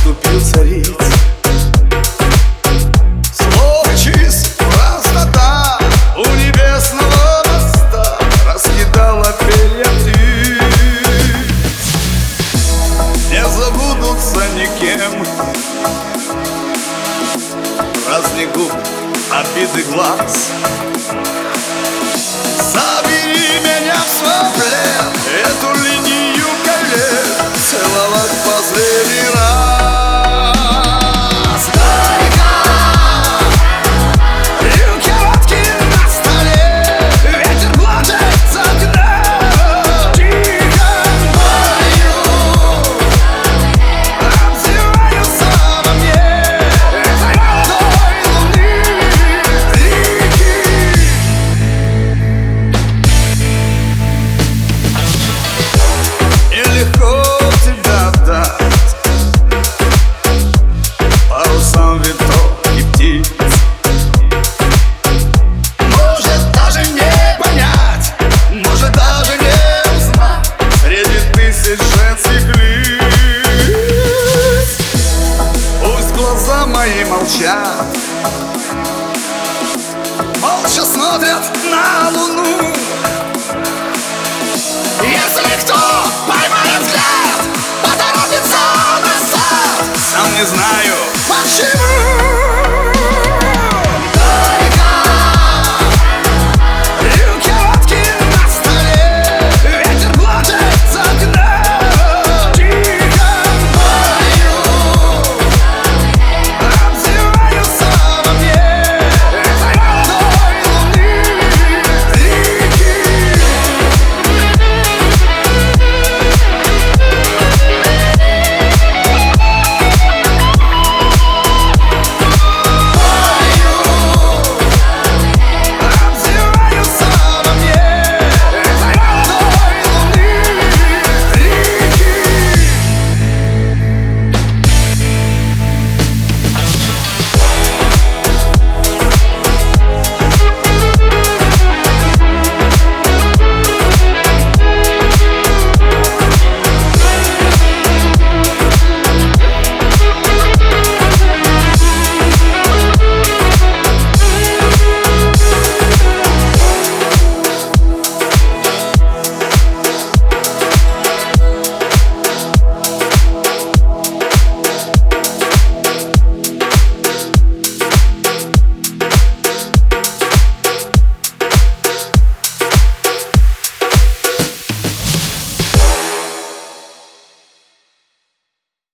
уступил цариц. Слово чист, простота у небесного моста раскидала перья птиц. Не забудутся никем праздник губ, обиды глаз. Забери меня в свой плен, эту линию колен целовать в последний раз. Горько, рюмки водки на столе, ветер плачет с окна. Тихо болью отзываются во мне этой молодой луны реки. Нелегко тебя дать парусам ветров и птиц. Может даже не понять, может даже не узнать среди тысяч женских лиц. Пусть глаза мои молчат, молча смотрят на луну. Если кто поймает взгляд, поторопится назад. Сам не знаю почему.